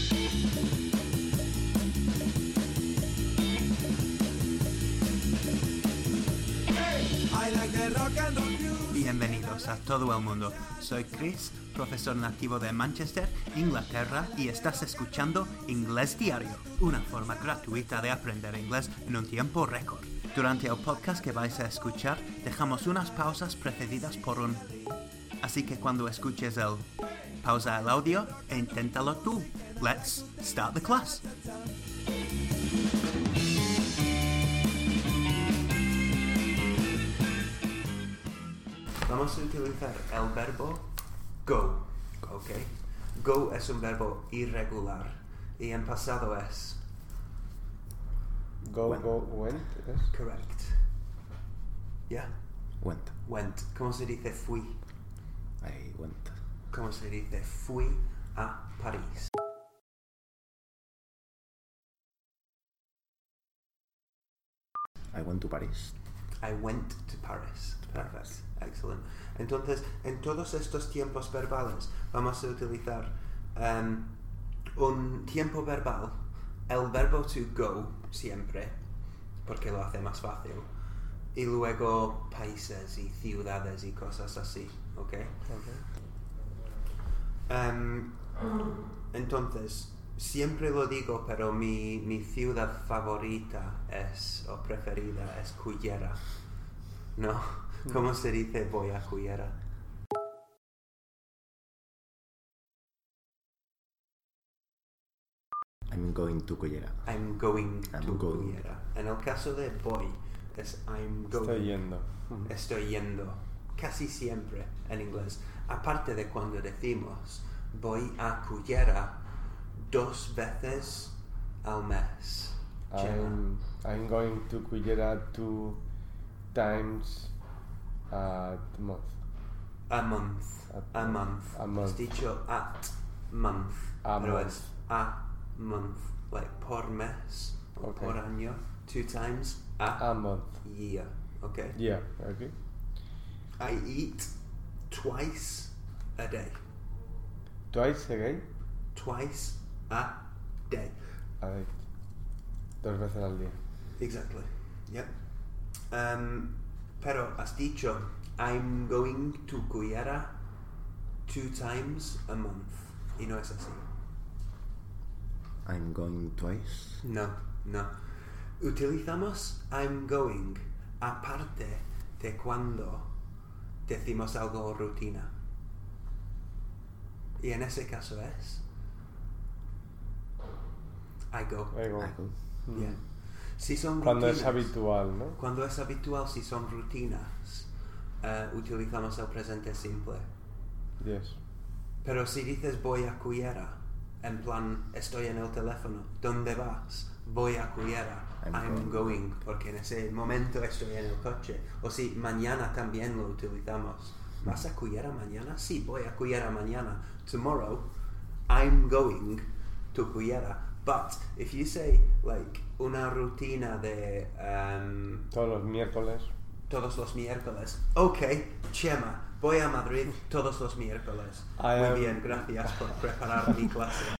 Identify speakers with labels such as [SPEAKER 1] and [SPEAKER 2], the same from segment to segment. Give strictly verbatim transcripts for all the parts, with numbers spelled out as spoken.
[SPEAKER 1] Bienvenidos a todo el mundo. Soy Chris, profesor nativo de Manchester, Inglaterra, y estás escuchando Inglés Diario, una forma gratuita de aprender inglés en un tiempo récord. Durante el podcast que vais a escuchar, dejamos unas pausas precedidas por un... Así que cuando escuches el... pausa el audio e inténtalo tú. Let's start the class. Vamos a utilizar el verbo go, ¿ok? Go es un verbo irregular y en pasado es...
[SPEAKER 2] Go,
[SPEAKER 1] went.
[SPEAKER 2] go, went, yes?
[SPEAKER 1] Correct. Yeah?
[SPEAKER 3] Went.
[SPEAKER 1] Went. ¿Cómo se dice fui?
[SPEAKER 3] I went.
[SPEAKER 1] ¿Cómo se dice fui a París?
[SPEAKER 3] I went to Paris.
[SPEAKER 1] I went to Paris. Perfect. Excellent. Entonces, en todos estos tiempos verbales vamos a utilizar um, un tiempo verbal, el verbo to go siempre, porque lo hace más fácil, y luego países y ciudades y cosas así, ¿ok?
[SPEAKER 2] Okay.
[SPEAKER 1] Um, entonces, siempre lo digo, pero mi, mi ciudad favorita es, o preferida, es Cullera. ¿No? ¿Cómo se dice voy a Cullera?
[SPEAKER 3] I'm going to Cullera.
[SPEAKER 1] I'm going
[SPEAKER 3] I'm
[SPEAKER 1] to
[SPEAKER 3] going.
[SPEAKER 1] Cullera. En el caso de voy, es I'm going.
[SPEAKER 2] Estoy yendo.
[SPEAKER 1] Estoy yendo. Casi siempre en inglés. Aparte de cuando decimos voy a Cullera dos veces al mes.
[SPEAKER 2] I'm, I'm going to Cullera two times a month.
[SPEAKER 1] A month.
[SPEAKER 2] At
[SPEAKER 1] A month.
[SPEAKER 2] a month.
[SPEAKER 1] Has dicho at month.
[SPEAKER 2] A
[SPEAKER 1] pero
[SPEAKER 2] month.
[SPEAKER 1] es a month. Like por mes. O
[SPEAKER 2] Okay.
[SPEAKER 1] por año. Two times a,
[SPEAKER 2] A month.
[SPEAKER 1] year. Okay?
[SPEAKER 2] Yeah, okay.
[SPEAKER 1] I eat twice a day.
[SPEAKER 2] Twice again?
[SPEAKER 1] Twice a day.
[SPEAKER 2] A ver. Dos veces al día.
[SPEAKER 1] Exactly. Yep. Um, pero has dicho, I'm going to Cullera two times a month. Y no es así.
[SPEAKER 3] I'm going twice.
[SPEAKER 1] No, no. Utilizamos I'm going aparte de cuando decimos algo rutina. Y en ese caso es I go.
[SPEAKER 2] I go.
[SPEAKER 3] I go.
[SPEAKER 2] Mm.
[SPEAKER 1] Yeah. Si son
[SPEAKER 2] Cuando
[SPEAKER 1] rutinas,
[SPEAKER 2] es habitual, ¿no?
[SPEAKER 1] Cuando es habitual, si son rutinas, uh, utilizamos el presente simple.
[SPEAKER 2] Yes.
[SPEAKER 1] Pero si dices voy a Cullera, en plan estoy en el teléfono, ¿dónde vas? Voy a Cullera, I'm,
[SPEAKER 3] I'm
[SPEAKER 1] going. porque en ese momento estoy en el coche. O si mañana también lo utilizamos. ¿Vas a Cullera mañana? Sí, voy a Cullera mañana. Tomorrow, I'm going to Cullera. But if you say like una rutina de um,
[SPEAKER 2] Todos los miércoles.
[SPEAKER 1] todos los miércoles, ok, Chema, voy a Madrid todos los miércoles.
[SPEAKER 2] I
[SPEAKER 1] Muy
[SPEAKER 2] am-
[SPEAKER 1] bien, gracias por preparar mi clase.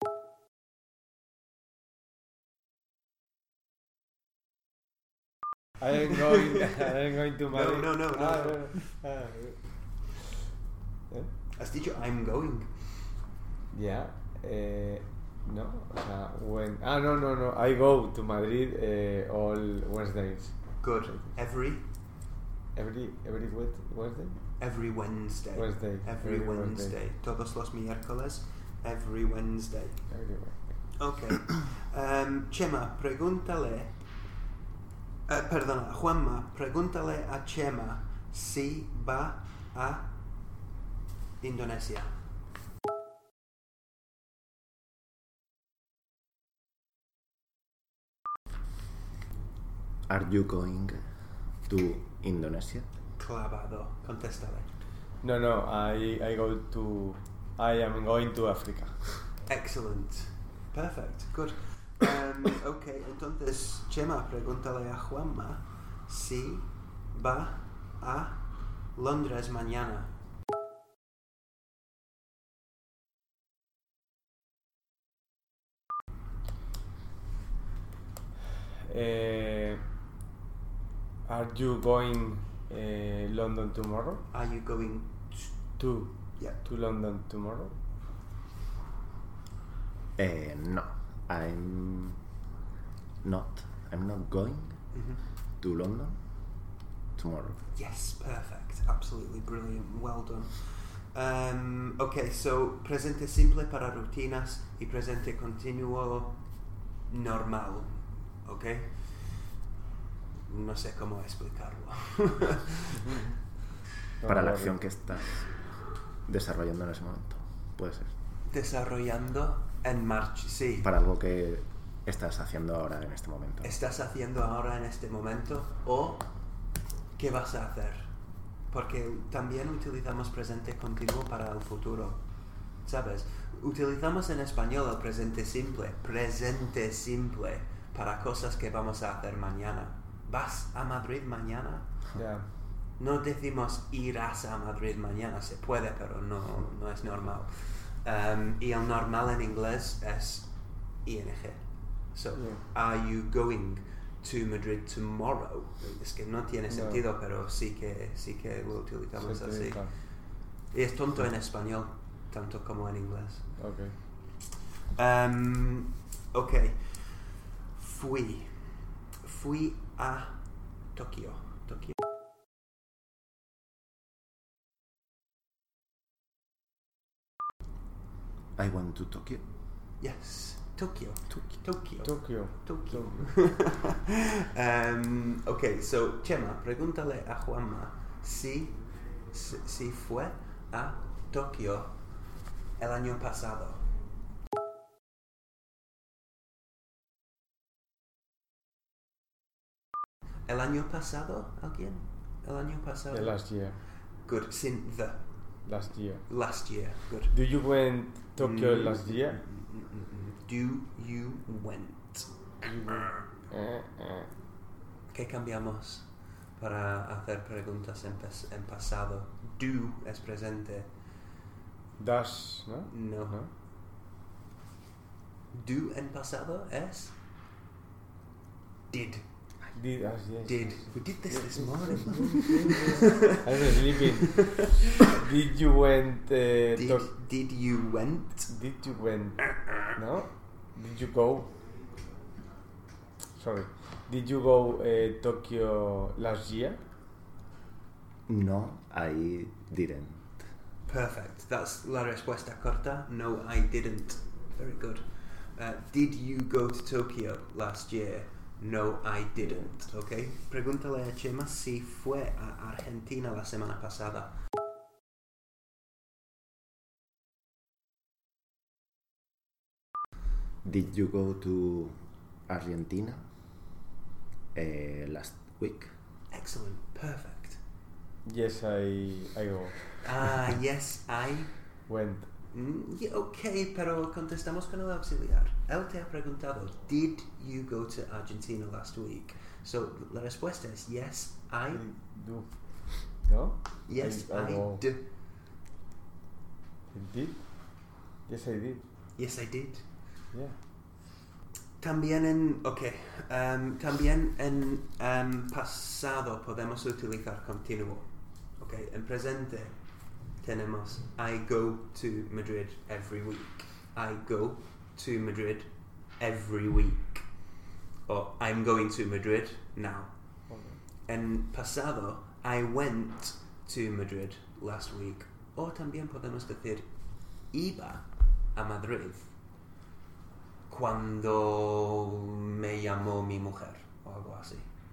[SPEAKER 2] I am going, I am going to Madrid.
[SPEAKER 1] no, no, no.
[SPEAKER 2] Ah, bueno. Ah, ¿eh?
[SPEAKER 1] Has dicho I'm going.
[SPEAKER 2] Ya, eh, no, o sea, when, ah, no, no, no, I go to Madrid eh, all Wednesdays.
[SPEAKER 1] Good. Every
[SPEAKER 2] Every, every Wed- Wednesday?
[SPEAKER 1] every Wednesday.
[SPEAKER 2] Wednesday.
[SPEAKER 1] Every,
[SPEAKER 2] Every
[SPEAKER 1] Wednesday.
[SPEAKER 2] Wednesday.
[SPEAKER 1] Todos los miércoles. Every Wednesday.
[SPEAKER 2] Every Wednesday.
[SPEAKER 1] Ok. Um, Chema, pregúntale. eh, perdona, Juanma, pregúntale a Chema si va a Indonesia.
[SPEAKER 3] Are you going to Indonesia?
[SPEAKER 1] Clavado. Contéstale.
[SPEAKER 2] No, no, I, I go to, I am going to Africa.
[SPEAKER 1] Excellent. Perfect. Good. Um, ok, entonces, Chema, pregúntale a Juanma si va a Londres mañana.
[SPEAKER 2] Uh, are you going uh, London tomorrow?
[SPEAKER 1] Are you going
[SPEAKER 2] To
[SPEAKER 1] yeah.
[SPEAKER 2] to London tomorrow?
[SPEAKER 3] Eh, no, I'm not. I'm not going
[SPEAKER 1] Mm-hmm.
[SPEAKER 3] to London tomorrow.
[SPEAKER 1] Yes, perfect. Absolutely brilliant. Well done. Um, ok, so presente simple para rutinas y presente continuo normal. Ok. No sé cómo explicarlo.
[SPEAKER 3] Para la
[SPEAKER 2] worry.
[SPEAKER 3] acción que estás desarrollando en ese momento. Puede ser.
[SPEAKER 1] Desarrollando en marcha. Sí.
[SPEAKER 3] Para algo que estás haciendo ahora en este momento.
[SPEAKER 1] Estás haciendo ahora en este momento o qué vas a hacer. Porque también utilizamos presente continuo para el futuro. ¿Sabes? Utilizamos en español el presente simple. Presente simple para cosas que vamos a hacer mañana. ¿Vas a Madrid mañana?
[SPEAKER 2] Yeah.
[SPEAKER 1] No decimos irás a Madrid mañana. Se puede, pero no, no es normal. Um, y el normal en inglés es ing. So,
[SPEAKER 2] Yeah.
[SPEAKER 1] are you going to Madrid tomorrow? Es que no tiene
[SPEAKER 2] No.
[SPEAKER 1] sentido, pero sí que, sí que lo utilizamos
[SPEAKER 2] Se
[SPEAKER 1] así.
[SPEAKER 2] utiliza.
[SPEAKER 1] Y es tonto en español, tanto como en inglés.
[SPEAKER 2] Okay.
[SPEAKER 1] Um, ok. Fui. Fui a Tokio. Tokio.
[SPEAKER 3] I went to Tokyo.
[SPEAKER 1] Yes. Tokio.
[SPEAKER 3] Tokyo.
[SPEAKER 1] Tokio.
[SPEAKER 2] Tokyo.
[SPEAKER 1] Tokio. um, ok, so Chema, pregúntale a Juanma si, si, si fue a Tokio el año pasado. ¿El año pasado? ¿Alguien? ¿El año pasado?
[SPEAKER 2] The last year.
[SPEAKER 1] Good. Sin the.
[SPEAKER 2] Last year.
[SPEAKER 1] Last year. Good.
[SPEAKER 2] Do you went Tokyo
[SPEAKER 1] Mm,
[SPEAKER 2] last year?
[SPEAKER 1] mm, mm, mm, mm. Do you went?
[SPEAKER 2] You went- eh, eh.
[SPEAKER 1] ¿Qué cambiamos para hacer preguntas en, pas- en pasado? Do es presente.
[SPEAKER 2] Does, no?
[SPEAKER 1] No.
[SPEAKER 2] No?
[SPEAKER 1] Do en pasado es did.
[SPEAKER 2] Did, as yes.
[SPEAKER 1] Did.
[SPEAKER 2] yes.
[SPEAKER 1] We did this this morning.
[SPEAKER 2] I was sleeping. Did you went uh,
[SPEAKER 1] Did,
[SPEAKER 2] Tok-
[SPEAKER 1] did you went?
[SPEAKER 2] Did you went? No? Did you go? Sorry. Did you go uh, Tokyo last year?
[SPEAKER 3] No, I didn't.
[SPEAKER 1] Perfect. That's la respuesta corta. No, I didn't. Very good. Uh, did you go to Tokyo last year? No, I didn't. Okay. Pregúntale a Chema si fue a Argentina la semana pasada.
[SPEAKER 3] Did you go to Argentina uh, last week?
[SPEAKER 1] Excellent. Perfect.
[SPEAKER 2] Yes, I I go.
[SPEAKER 1] Ah, yes, I.
[SPEAKER 2] Went.
[SPEAKER 1] Mm, yeah, ok, pero contestamos con el auxiliar. Él te ha preguntado, did you go to Argentina last week? So, la respuesta es yes, I.
[SPEAKER 2] I do. No?
[SPEAKER 1] Yes,
[SPEAKER 2] I, I
[SPEAKER 1] I
[SPEAKER 2] go.
[SPEAKER 1] do.
[SPEAKER 2] You did? Yes, I did.
[SPEAKER 1] Yes, I did.
[SPEAKER 2] Yeah.
[SPEAKER 1] También en, ok, um, también en um, pasado podemos utilizar continuo. Ok, en presente tenemos I go to Madrid every week. I go to Madrid every week. Or I'm going to Madrid now.
[SPEAKER 2] Okay.
[SPEAKER 1] En pasado, I went to Madrid last week. O también podemos decir iba a Madrid cuando me llamó mi mujer o algo así.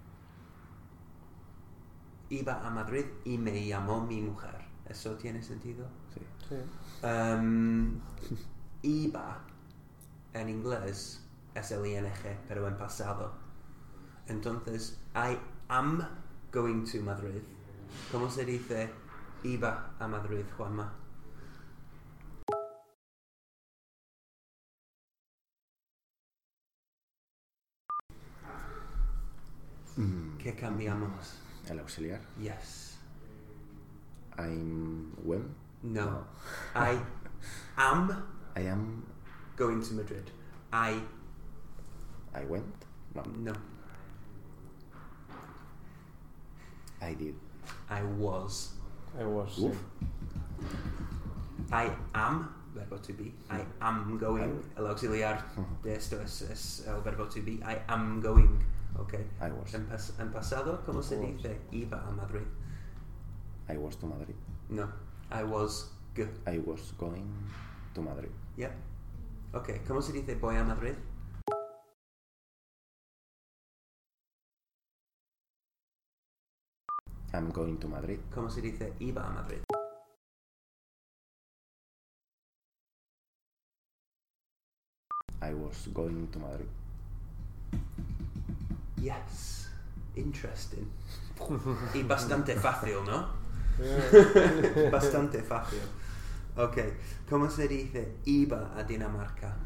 [SPEAKER 1] Iba a Madrid y me llamó mi mujer. ¿Eso tiene sentido?
[SPEAKER 3] Sí.
[SPEAKER 2] Sí.
[SPEAKER 1] Um, iba en inglés es el ing, pero en pasado. Entonces, I am going to Madrid. ¿Cómo se dice iba a Madrid, Juanma?
[SPEAKER 3] Mm,
[SPEAKER 1] ¿Qué cambiamos?
[SPEAKER 3] el auxiliar.
[SPEAKER 1] Yes.
[SPEAKER 3] I'm when?
[SPEAKER 1] No. I am
[SPEAKER 3] I am.
[SPEAKER 1] going to Madrid. I
[SPEAKER 3] I went. No.
[SPEAKER 1] no.
[SPEAKER 3] I did.
[SPEAKER 1] I was.
[SPEAKER 2] I was.
[SPEAKER 3] Uf.
[SPEAKER 1] I am, verbo to be. I am going. El auxiliar de esto es, es el verbo to be. I am going. Okay.
[SPEAKER 3] I was.
[SPEAKER 1] En, pas en pasado, ¿cómo se
[SPEAKER 2] Was.
[SPEAKER 1] dice iba a Madrid?
[SPEAKER 3] I was to Madrid.
[SPEAKER 1] No. I was go.
[SPEAKER 3] I was going to Madrid.
[SPEAKER 1] Yep. Okay. ¿Cómo se dice voy a Madrid?
[SPEAKER 3] I'm going to Madrid.
[SPEAKER 1] ¿Cómo se dice iba a Madrid?
[SPEAKER 3] I was going to Madrid.
[SPEAKER 1] Yes. Interesting. Y bastante fácil, ¿no?
[SPEAKER 2] Yeah.
[SPEAKER 1] Bastante fácil. Ok. ¿Cómo se dice iba a Dinamarca?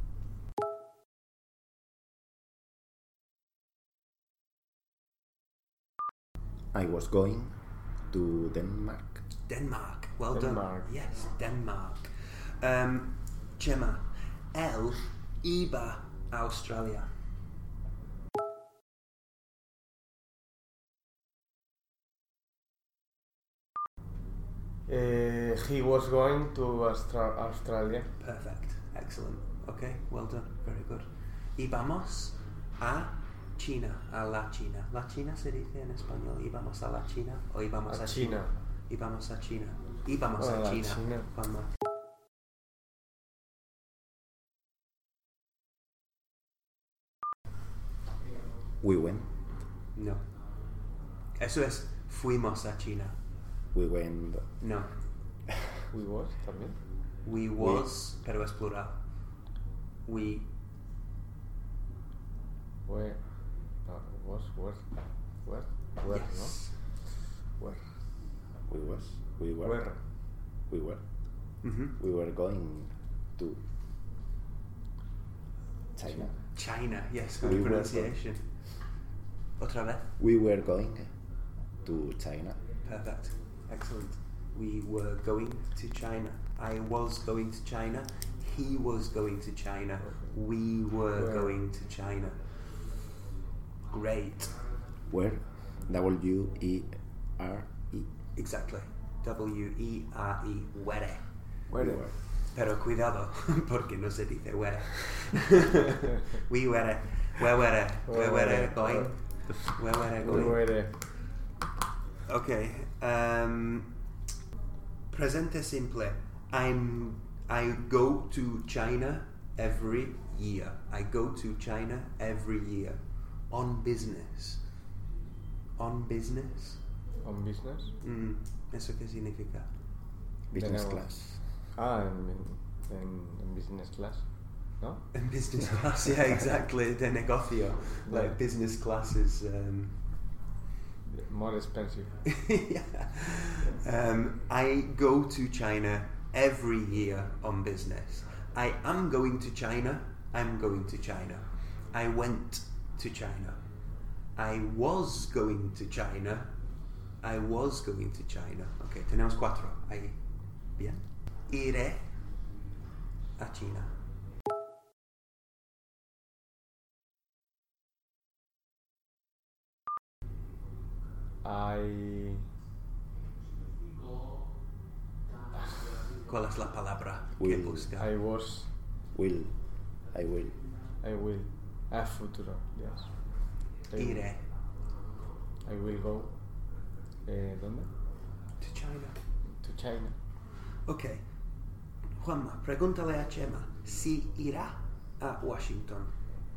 [SPEAKER 3] I was going to Denmark.
[SPEAKER 1] Denmark. Well
[SPEAKER 2] Denmark.
[SPEAKER 1] done. Yes, Denmark. Um, Gemma, él iba a Australia.
[SPEAKER 2] Uh, he was going to Austra- Australia.
[SPEAKER 1] Perfect. Excellent. Okay, well done. Very good. Íbamos a China, a la China. ¿La China se dice en español? ¿Íbamos a la China o íbamos a,
[SPEAKER 2] A
[SPEAKER 1] China?
[SPEAKER 2] China.
[SPEAKER 1] Íbamos a China. Íbamos
[SPEAKER 2] A
[SPEAKER 1] a
[SPEAKER 2] la
[SPEAKER 1] China.
[SPEAKER 2] China.
[SPEAKER 1] Juanma.
[SPEAKER 3] We went.
[SPEAKER 1] No. Eso es fuimos a China.
[SPEAKER 3] We went.
[SPEAKER 1] No.
[SPEAKER 2] We was también.
[SPEAKER 1] We was, pero es plural. We
[SPEAKER 2] Where? No, was, where? Where? Where,
[SPEAKER 1] yes.
[SPEAKER 2] no? Where?
[SPEAKER 3] We was. We were.
[SPEAKER 2] Where?
[SPEAKER 3] We were.
[SPEAKER 1] Mhm.
[SPEAKER 3] We were going to China.
[SPEAKER 1] China, yes,
[SPEAKER 3] We
[SPEAKER 1] good
[SPEAKER 3] were
[SPEAKER 1] pronunciation. Otra vez.
[SPEAKER 3] We were going to China.
[SPEAKER 1] Perfect. Excellent. We were going to China. I was going to China. He was going to China. We were
[SPEAKER 2] Where?
[SPEAKER 1] going to China. Great.
[SPEAKER 3] Where? W E R E.
[SPEAKER 1] Exactly. W E R E. Where.
[SPEAKER 2] Where?
[SPEAKER 3] We were.
[SPEAKER 1] Pero cuidado, porque no se dice where. We were. Where were. Where were going. Where were
[SPEAKER 2] We
[SPEAKER 1] going.
[SPEAKER 2] were.
[SPEAKER 1] Okay. Um, presente simple. I'm. I go to China every year. I go to China every year on business. On business.
[SPEAKER 2] On business?
[SPEAKER 1] Mm, ¿Eso qué significa?
[SPEAKER 3] Business
[SPEAKER 2] Tenemos-
[SPEAKER 3] class.
[SPEAKER 2] Ah, en, en, en business class, ¿no?
[SPEAKER 1] In business class, yeah, exactly. De negocio, like
[SPEAKER 2] Yeah.
[SPEAKER 1] business class is. Um,
[SPEAKER 2] More expensive.
[SPEAKER 1] yeah. Um, I go to China every year on business. I am going to China. I'm going to China. I went to China. I was going to China. I was going to China. Okay, tenemos cuatro. Ahí. Bien. Iré a China.
[SPEAKER 2] I...
[SPEAKER 1] ¿Cuál es la palabra que
[SPEAKER 3] Will.
[SPEAKER 1] busca?
[SPEAKER 2] I was...
[SPEAKER 3] Will. I will.
[SPEAKER 2] I will. Ah, futuro, yes. I will-
[SPEAKER 1] Iré
[SPEAKER 2] I will go... Eh, ¿Dónde?
[SPEAKER 1] to China.
[SPEAKER 2] To China.
[SPEAKER 1] Ok. Juanma, pregúntale a Chema si irá a Washington.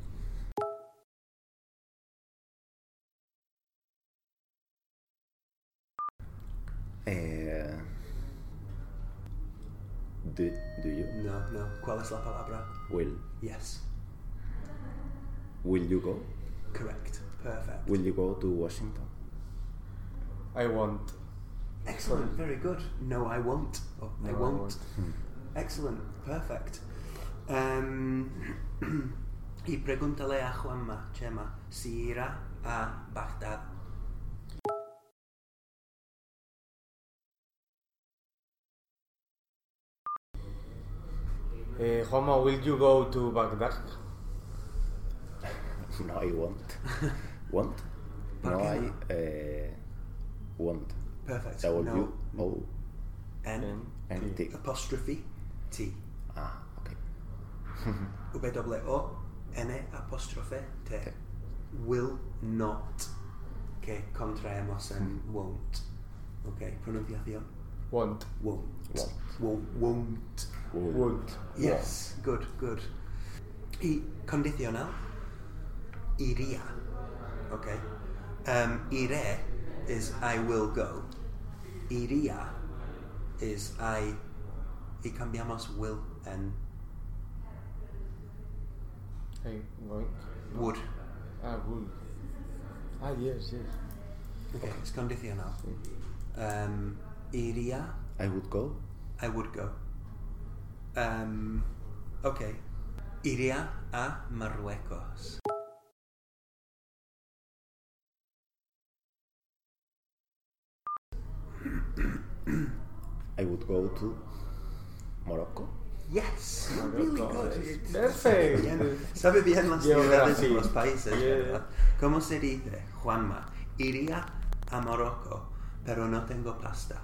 [SPEAKER 3] Eh, do, do you?
[SPEAKER 1] No, no. ¿Cuál es la palabra?
[SPEAKER 3] Will.
[SPEAKER 1] Yes.
[SPEAKER 3] Will you go?
[SPEAKER 1] Correct. Perfect.
[SPEAKER 3] Will you go to Washington?
[SPEAKER 2] I want.
[SPEAKER 1] Excellent. Very good. No, I won't. Oh, I
[SPEAKER 2] No, I
[SPEAKER 1] won't.
[SPEAKER 2] won't.
[SPEAKER 1] Excellent. Perfect. Um, y pregúntale a Juanma, Chema, si irá a Bagdad.
[SPEAKER 2] Eh, Juanma, will you go to Baghdad?
[SPEAKER 3] No, I won't. Won't?
[SPEAKER 1] ¿Por
[SPEAKER 3] No,
[SPEAKER 1] qué
[SPEAKER 3] I.
[SPEAKER 1] no?
[SPEAKER 3] Eh, won't.
[SPEAKER 1] Perfect.
[SPEAKER 3] W
[SPEAKER 1] No.
[SPEAKER 3] O
[SPEAKER 1] N.
[SPEAKER 3] N T.
[SPEAKER 1] Apostrophe T.
[SPEAKER 3] Ah, okay.
[SPEAKER 1] W O N apóstrofe T.
[SPEAKER 3] T.
[SPEAKER 1] Will not. Que contraemos en won't. Ok, pronunciación.
[SPEAKER 2] Won't.
[SPEAKER 1] Won't.
[SPEAKER 3] Won't.
[SPEAKER 1] Won't. Won't.
[SPEAKER 2] Won't.
[SPEAKER 1] Yes, good, good. Y condicional. Iría. Ok. Um, iré is I will go. Iría is I. Y cambiamos will en
[SPEAKER 2] Hey, going.
[SPEAKER 1] would.
[SPEAKER 2] Ah, would. Ah, yes, yes.
[SPEAKER 1] Okay, es condicional. Um, iría,
[SPEAKER 3] I would go.
[SPEAKER 1] I would go. Um, okay. Iría a Marruecos.
[SPEAKER 3] I would go to Morocco.
[SPEAKER 1] Yes, really
[SPEAKER 2] Morocco,
[SPEAKER 1] good.
[SPEAKER 2] yes.
[SPEAKER 1] It's-
[SPEAKER 2] Perfect.
[SPEAKER 1] Sabe bien, sabe bien las
[SPEAKER 2] Geografía.
[SPEAKER 1] ciudades y los países,
[SPEAKER 2] Yeah.
[SPEAKER 1] ¿verdad? ¿Cómo se dice, Juanma? Iría a Morocco, pero no tengo pasta.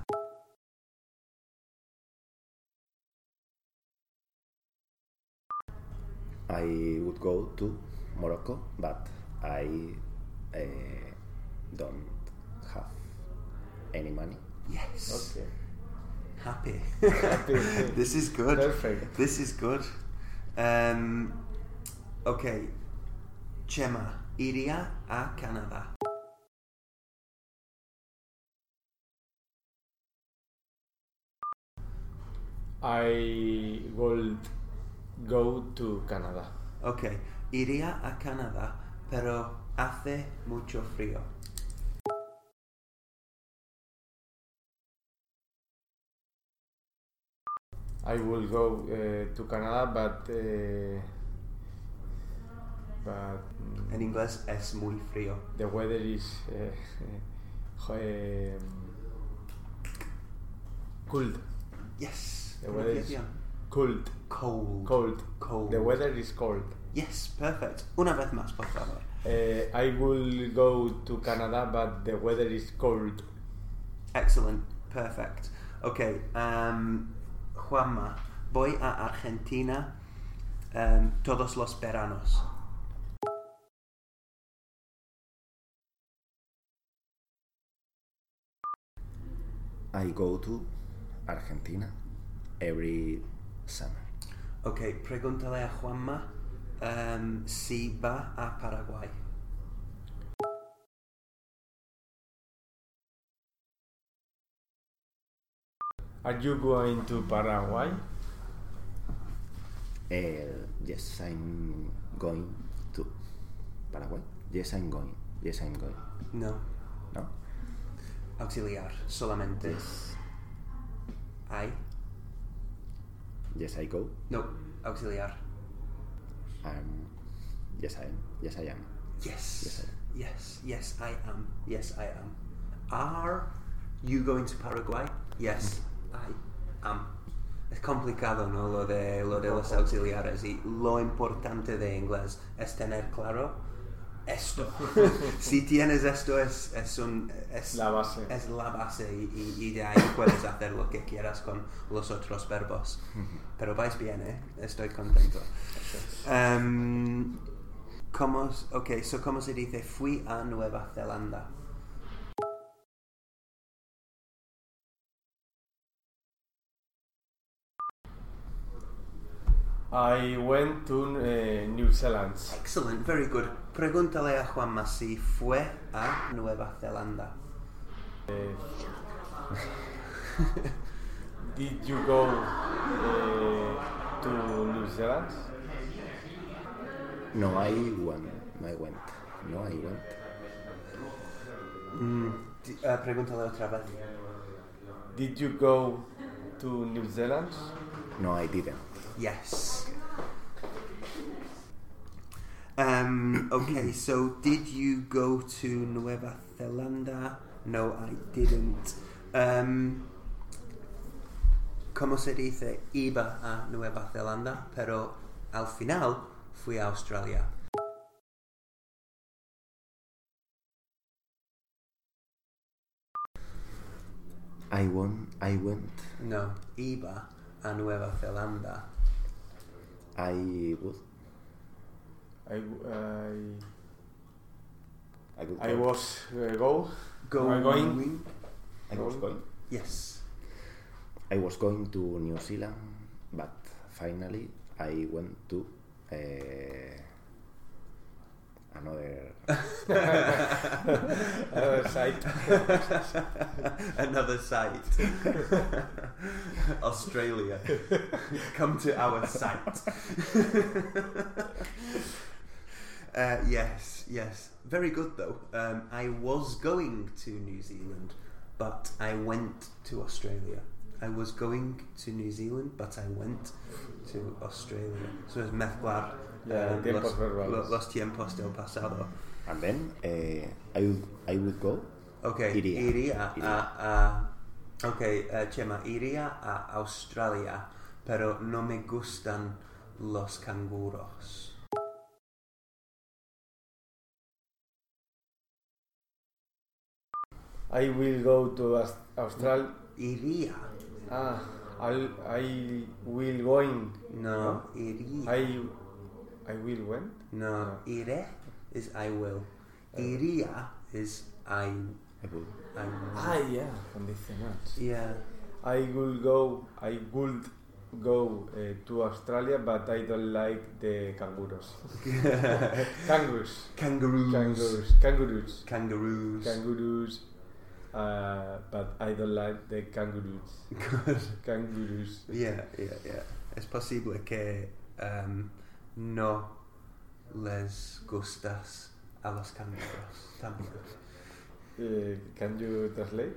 [SPEAKER 3] I would go to Morocco, but I uh, don't have any money.
[SPEAKER 1] Yes.
[SPEAKER 2] Okay.
[SPEAKER 1] Happy.
[SPEAKER 2] Happy.
[SPEAKER 1] This is good.
[SPEAKER 2] Perfect.
[SPEAKER 1] This is good. Um, okay. Chema, iría a Canadá.
[SPEAKER 2] I will go to Canada.
[SPEAKER 1] Okay. Iría a Canadá, pero hace mucho frío.
[SPEAKER 2] I will go uh, to Canada, but uh, but mm,
[SPEAKER 1] En inglés es muy frío.
[SPEAKER 2] the weather is uh, um, cold.
[SPEAKER 1] Yes.
[SPEAKER 2] The weather is
[SPEAKER 1] Pronunciación.
[SPEAKER 2] cold.
[SPEAKER 1] Cold.
[SPEAKER 2] Cold.
[SPEAKER 1] Cold.
[SPEAKER 2] The weather is cold.
[SPEAKER 1] Yes, perfect. Una vez más, por favor.
[SPEAKER 2] Uh, I will go to Canada, but the weather is cold.
[SPEAKER 1] Excellent. Perfect. Okay. Um, Juanma, voy a Argentina um, todos los veranos.
[SPEAKER 3] I go to Argentina every summer.
[SPEAKER 1] Ok, pregúntale a Juanma um, si va a Paraguay.
[SPEAKER 2] Are you going to Paraguay?
[SPEAKER 3] Uh, yes, I'm going to Paraguay. Yes, I'm going. Yes, I'm going.
[SPEAKER 1] No.
[SPEAKER 3] No?
[SPEAKER 1] Auxiliar. Solamente.
[SPEAKER 3] Yes.
[SPEAKER 1] I.
[SPEAKER 3] Yes, I go.
[SPEAKER 1] No. Auxiliar.
[SPEAKER 3] Um, yes, I am. Yes, I am.
[SPEAKER 1] Yes.
[SPEAKER 3] Yes, I am.
[SPEAKER 1] Yes. Yes, I am. Yes, I am. Are you going to Paraguay? Yes, I am. Es complicado, ¿no? Lo de, lo de los auxiliares. Y lo importante de inglés es tener claro esto. Si tienes esto, es, es, un, es
[SPEAKER 2] La base.
[SPEAKER 1] Es la base y, y, y de ahí puedes hacer lo que quieras con los otros verbos. Pero vais bien, ¿eh? Estoy contento. Um, ¿cómo, ok, so ¿cómo se dice fui a Nueva Zelanda?
[SPEAKER 2] I went to uh, New Zealand.
[SPEAKER 1] Excellent, very good. Pregúntale a Juanma si fue a Nueva Zelanda.
[SPEAKER 2] Uh, did you go uh, to New Zealand?
[SPEAKER 3] No, I went. No, I went. No, I went.
[SPEAKER 1] Mm, di- uh, pregúntale otra vez.
[SPEAKER 2] Did you go to New Zealand?
[SPEAKER 3] No, I didn't.
[SPEAKER 1] Yes. Um, okay, so did you go to Nueva Zelanda? No, I didn't. Um, ¿Cómo se dice iba a Nueva Zelanda? Pero al final fui a Australia.
[SPEAKER 3] I went, I went,
[SPEAKER 1] No, iba a Nueva Zelanda.
[SPEAKER 3] I would,
[SPEAKER 2] I, I,
[SPEAKER 3] I would
[SPEAKER 2] I
[SPEAKER 3] go.
[SPEAKER 2] was uh, go.
[SPEAKER 1] Go
[SPEAKER 2] Am I going?
[SPEAKER 3] I was going.
[SPEAKER 1] Yes.
[SPEAKER 3] I was going to New Zealand, but finally I went to uh, another
[SPEAKER 2] Other side.
[SPEAKER 1] Another site. Australia. Come to our site. uh, yes, yes. Very good though. Um, I was going to New Zealand, but I went to Australia. I was going to New Zealand, but I went to Australia. So es mezclar
[SPEAKER 2] Yeah,
[SPEAKER 1] um,
[SPEAKER 2] tiempos
[SPEAKER 1] los,
[SPEAKER 2] verbales.
[SPEAKER 1] lo- los tiempos del pasado.
[SPEAKER 3] and then uh, I would, I would go.
[SPEAKER 1] Okay,
[SPEAKER 3] Iría.
[SPEAKER 1] iría,
[SPEAKER 3] Iría.
[SPEAKER 1] a, a okay, uh, Chema, iría a Australia, pero no me gustan los canguros.
[SPEAKER 2] I will go to Aus- Australia.
[SPEAKER 1] Iría.
[SPEAKER 2] Ah, I'll, I will going.
[SPEAKER 1] No, iría.
[SPEAKER 2] I, I will when?
[SPEAKER 1] No, iré is I will. Iría is I.
[SPEAKER 3] I would.
[SPEAKER 1] I
[SPEAKER 2] Ah, yeah, condicionals.
[SPEAKER 1] yeah.
[SPEAKER 2] I will go. I would go uh, to Australia, but I don't like the kangaroos. Kangaroos.
[SPEAKER 1] Kangaroos.
[SPEAKER 2] Kangaroos. Kangaroos.
[SPEAKER 1] Kangaroos.
[SPEAKER 2] Kangaroos. Uh, but I don't like the kangaroos.
[SPEAKER 1] Good.
[SPEAKER 2] Kangaroos.
[SPEAKER 1] Yeah, yeah, yeah. Es posible que um, no les gustas a los canguros también.
[SPEAKER 2] Uh, can you translate?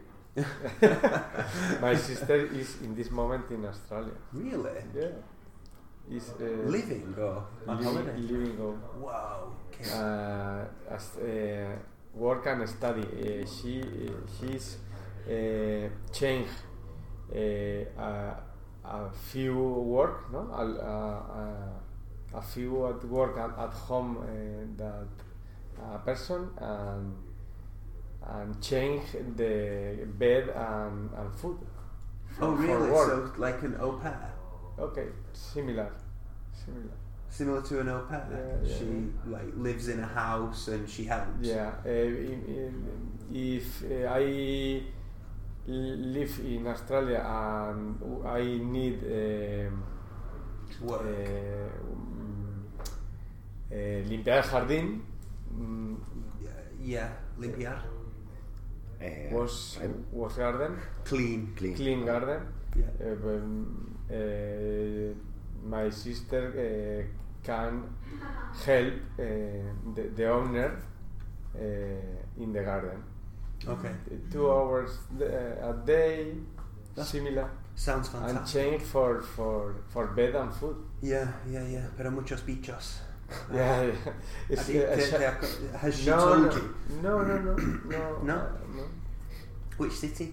[SPEAKER 2] My sister is in this moment in Australia.
[SPEAKER 1] Really?
[SPEAKER 2] Yeah. Is uh,
[SPEAKER 1] Living or on
[SPEAKER 2] living,
[SPEAKER 1] holiday?
[SPEAKER 2] living on
[SPEAKER 1] Wow. Okay.
[SPEAKER 2] uh, as, uh, work and study. Uh, she uh, she's uh, changed uh, a, a few work, no, a, a, a few at work and at home uh, that a person and and change the bed and, and food.
[SPEAKER 1] Oh,
[SPEAKER 2] for
[SPEAKER 1] really?
[SPEAKER 2] work.
[SPEAKER 1] So, like an au pair?
[SPEAKER 2] Okay, similar, similar.
[SPEAKER 1] Similar to an au pair?
[SPEAKER 2] Yeah, yeah,
[SPEAKER 1] she like lives in a house and she helps?
[SPEAKER 2] Yeah, uh, in, in, if uh, I live in Australia and I need um,
[SPEAKER 1] Work.
[SPEAKER 2] uh, um, uh, limpiar el jardín, um,
[SPEAKER 1] Yeah, limpiar.
[SPEAKER 3] Uh,
[SPEAKER 2] was
[SPEAKER 3] I'm
[SPEAKER 2] was garden,
[SPEAKER 1] Clean.
[SPEAKER 3] clean.
[SPEAKER 2] clean garden.
[SPEAKER 1] Yeah.
[SPEAKER 2] Uh, um, uh, my sister uh, can help uh, the, the owner uh, in the garden.
[SPEAKER 1] Okay.
[SPEAKER 2] Two hours uh, a day,
[SPEAKER 1] That's
[SPEAKER 2] similar,
[SPEAKER 1] Sounds
[SPEAKER 2] and
[SPEAKER 1] fantastic.
[SPEAKER 2] change for, for, for bed and food.
[SPEAKER 1] Yeah, yeah, yeah. Pero muchos bichos.
[SPEAKER 2] Yeah, yeah.
[SPEAKER 1] I
[SPEAKER 2] It's,
[SPEAKER 1] think
[SPEAKER 2] uh,
[SPEAKER 1] te-
[SPEAKER 2] sh-
[SPEAKER 1] te ha- has she
[SPEAKER 2] no,
[SPEAKER 1] told
[SPEAKER 2] no,
[SPEAKER 1] you?
[SPEAKER 2] no, no, no, no,
[SPEAKER 1] No?
[SPEAKER 2] uh, no.
[SPEAKER 1] Which city?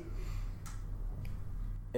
[SPEAKER 2] Uh,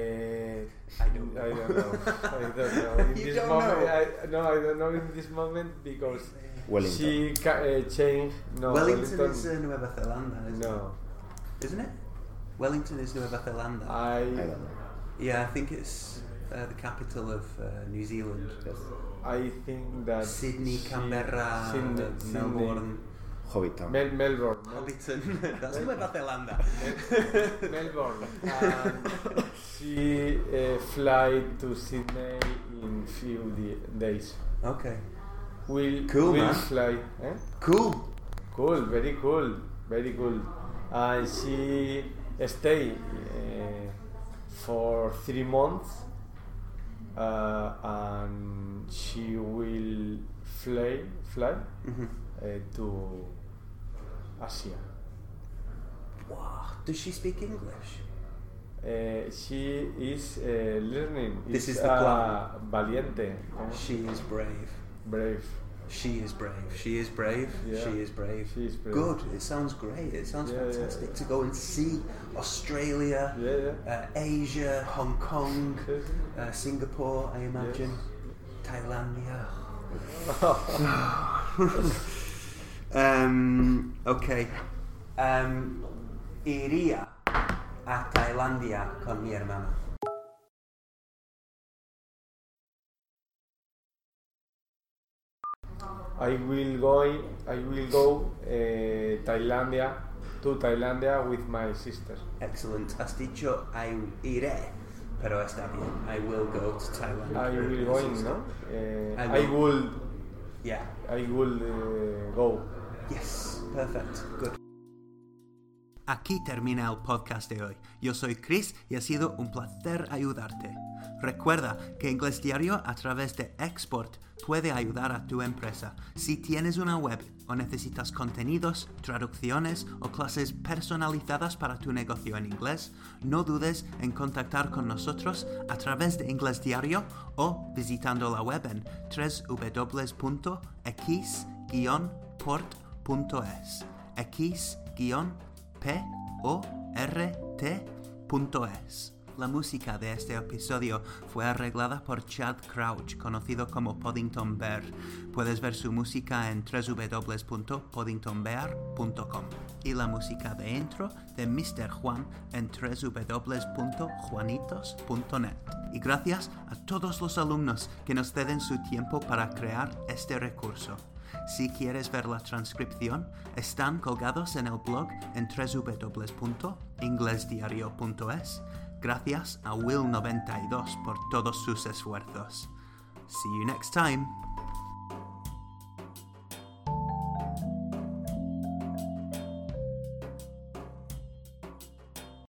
[SPEAKER 1] I don't know.
[SPEAKER 2] I don't know. I don't know. In
[SPEAKER 1] You
[SPEAKER 2] this
[SPEAKER 1] don't
[SPEAKER 2] moment,
[SPEAKER 1] know?
[SPEAKER 2] I, no, I don't know in this moment because
[SPEAKER 3] Wellington.
[SPEAKER 2] she ca- uh, changed. No,
[SPEAKER 1] Wellington,
[SPEAKER 2] Wellington.
[SPEAKER 1] is uh, Nueva Zelanda, isn't
[SPEAKER 2] no,
[SPEAKER 1] it? Isn't it? Wellington is Nueva Zelanda.
[SPEAKER 2] I.
[SPEAKER 3] I don't know.
[SPEAKER 1] yeah, I think it's uh, the capital of uh, New Zealand.
[SPEAKER 3] Yes.
[SPEAKER 2] I think that
[SPEAKER 1] Sydney,
[SPEAKER 2] she-
[SPEAKER 1] Canberra,
[SPEAKER 2] Sydney,
[SPEAKER 1] uh,
[SPEAKER 2] Sydney,
[SPEAKER 1] Melbourne,
[SPEAKER 3] Hobbiton.
[SPEAKER 2] Mel- Melbourne, Mel-
[SPEAKER 1] Hobbiton. That's Nueva Zelanda.
[SPEAKER 2] Melbourne. And she uh, fly to Sydney in few di- days.
[SPEAKER 1] Okay.
[SPEAKER 2] Will
[SPEAKER 1] Cool,
[SPEAKER 2] will
[SPEAKER 1] man.
[SPEAKER 2] fly. Eh?
[SPEAKER 1] Cool.
[SPEAKER 2] Cool, very cool, very cool. And she stay uh, for three months, uh, and she will fly fly
[SPEAKER 1] hmm
[SPEAKER 2] uh, to Asia.
[SPEAKER 1] Wow. Does she speak English?
[SPEAKER 2] Uh, she is uh, learning.
[SPEAKER 1] This
[SPEAKER 2] is
[SPEAKER 1] is the
[SPEAKER 2] uh,
[SPEAKER 1] plan.
[SPEAKER 2] valiente, ¿no?
[SPEAKER 1] She is brave.
[SPEAKER 2] Brave.
[SPEAKER 1] She is brave. She is brave.
[SPEAKER 2] Yeah.
[SPEAKER 1] She is brave.
[SPEAKER 2] She is brave.
[SPEAKER 1] Good. It sounds great. It sounds
[SPEAKER 2] Yeah, yeah.
[SPEAKER 1] fantastic to go and see Australia,
[SPEAKER 2] Yeah, yeah.
[SPEAKER 1] uh, Asia, Hong Kong,
[SPEAKER 2] Yes.
[SPEAKER 1] uh, Singapore, I imagine, Thailand. um, okay. Um, iría a Tailandia con mi hermana.
[SPEAKER 2] I will go, I will go eh, Tailandia, to Tailandia with my sister.
[SPEAKER 1] Excellent. Has dicho I iré, pero está bien. I will go to Thailand.
[SPEAKER 2] I
[SPEAKER 1] with
[SPEAKER 2] will
[SPEAKER 1] my
[SPEAKER 2] going,
[SPEAKER 1] sister.
[SPEAKER 2] ¿no? Eh,
[SPEAKER 1] I
[SPEAKER 2] I
[SPEAKER 1] will.
[SPEAKER 2] will,
[SPEAKER 1] Yeah.
[SPEAKER 2] I will uh, go.
[SPEAKER 1] Yes. Perfect. Good. Aquí termina el podcast de hoy. Yo soy Chris y ha sido un placer ayudarte. Recuerda que Inglés Diario a través de Export puede ayudar a tu empresa. Si tienes una web o necesitas contenidos, traducciones o clases personalizadas para tu negocio en inglés, no dudes en contactar con nosotros a través de Inglés Diario o visitando la web en w w w punto x guion port punto es. x guion p o r t punto es. La música de este episodio fue arreglada por Chad Crouch, conocido como Poddington Bear. Puedes ver su música en w w w punto poddington bear punto com y la música de intro de mister Juan en w w w punto juanitos punto net. Y gracias a todos los alumnos que nos ceden su tiempo para crear este recurso. Si quieres ver la transcripción, están colgados en el blog en w w w punto inglesdiario punto es. Gracias a Will noventa y dos por todos sus esfuerzos. See you next time.